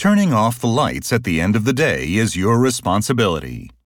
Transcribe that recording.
Turning off the lights at the end of the day is your responsibility.